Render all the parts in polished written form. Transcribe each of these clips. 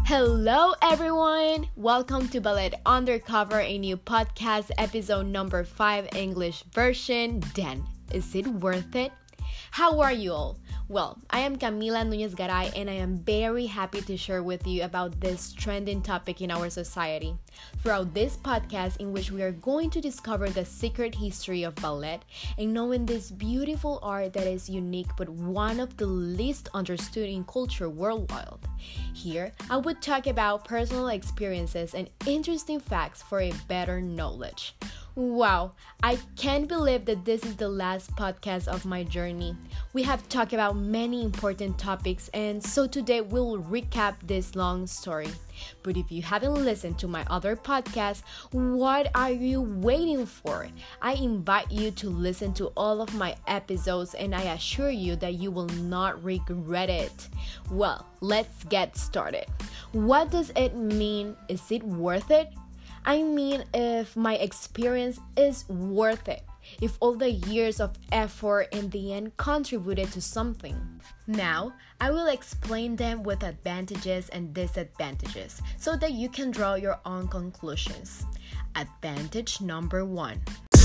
Hello, everyone! Welcome to Ballet Undercover, a new podcast, episode number 5, English version. Dan, is it worth it? How are you all? Well, I am Camila Núñez Garay, and I am very happy to share with you about this trending topic in our society. Throughout this podcast, in which we are going to discover the secret history of ballet and knowing this beautiful art that is unique but one of the least understood in culture worldwide. Here, I would talk about personal experiences and interesting facts for a better knowledge. Wow, I can't believe that this is the last podcast of my journey. We have talked about many important topics, and so today we'll recap this long story. But if you haven't listened to my other podcasts, what are you waiting for? I invite you to listen to all of my episodes, and I assure you that you will not regret it. Well, let's get started. What does it mean? Is it worth it? I mean, if my experience is worth it, if all the years of effort in the end contributed to something. Now, I will explain them with advantages and disadvantages so that you can draw your own conclusions. Advantage number 1.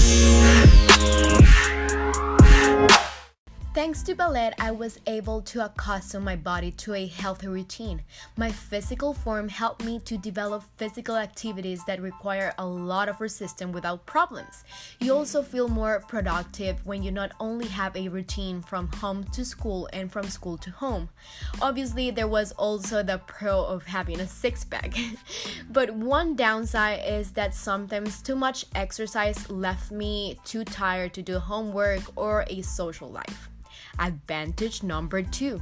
Thanks to ballet, I was able to accustom my body to a healthy routine. My physical form helped me to develop physical activities that require a lot of resistance without problems. You also feel more productive when you not only have a routine from home to school and from school to home. Obviously, there was also the pro of having a six-pack. But one downside is that sometimes too much exercise left me too tired to do homework or a social life. Advantage number 2.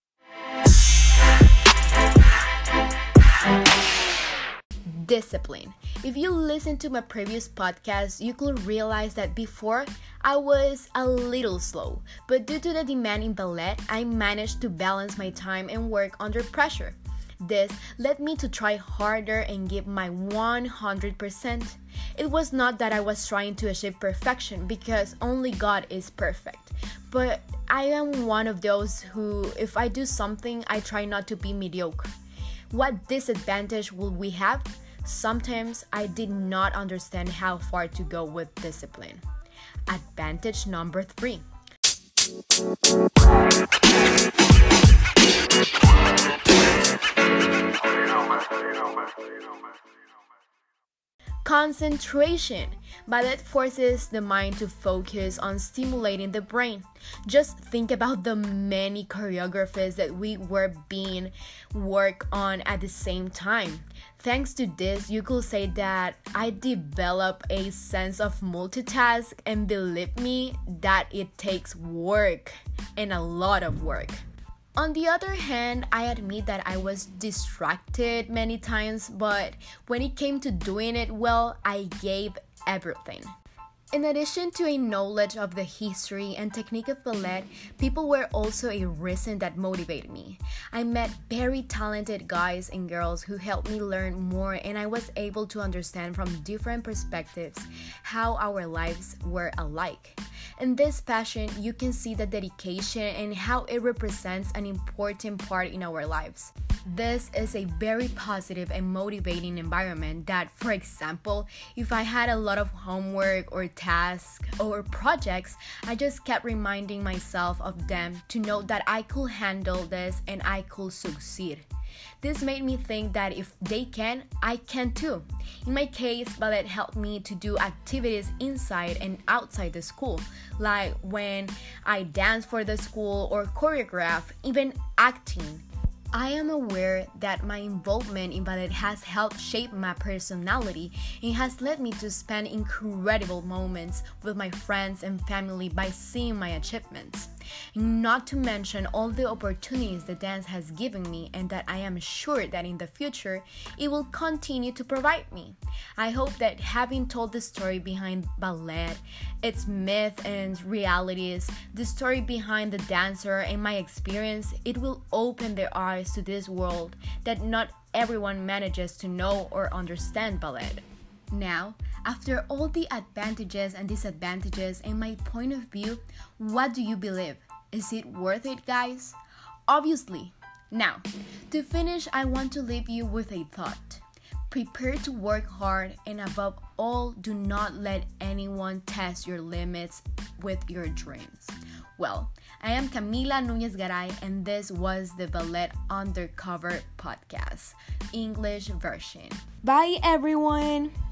Discipline. If you listen to my previous podcast, you could realize that before I was a little slow, but due to the demand in ballet, I managed to balance my time and work under pressure. This led me to try harder and give my 100%. It was not that I was trying to achieve perfection, because only God is perfect. But I am one of those who, if I do something, I try not to be mediocre. What disadvantage will we have? Sometimes I did not understand how far to go with discipline. Advantage number 3. Concentration. Ballet forces the mind to focus on stimulating the brain. Just think about the many choreographies that we were being worked on at the same time. Thanks to this, you could say that I developed a sense of multitask, and believe me, that it takes work and a lot of work. On the other hand, I admit that I was distracted many times, but when it came to doing it well, I gave everything. In addition to a knowledge of the history and technique of ballet, people were also a reason that motivated me. I met very talented guys and girls who helped me learn more, and I was able to understand from different perspectives how our lives were alike. In this passion, you can see the dedication and how it represents an important part in our lives. This is a very positive and motivating environment that, for example, if I had a lot of homework or tasks or projects, I just kept reminding myself of them to know that I could handle this and I could succeed. This made me think that if they can, I can too. In my case, ballet helped me to do activities inside and outside the school, like when I dance for the school or choreograph, even acting. I am aware that my involvement in ballet has helped shape my personality and has led me to spend incredible moments with my friends and family by seeing my achievements. Not to mention all the opportunities the dance has given me, and that I am sure that in the future it will continue to provide me. I hope that having told the story behind ballet, its myth and realities, the story behind the dancer and my experience, it will open their eyes to this world that not everyone manages to know or understand ballet. Now, after all the advantages and disadvantages and my point of view, what do you believe? Is it worth it, guys? Obviously, Now, to finish, I want to leave you with a thought. Prepare to work hard, and above all, do not let anyone test your limits with your dreams. Well, I am Camila Núñez Garay, and this was the Ballet Undercover Podcast, English version. Bye, everyone!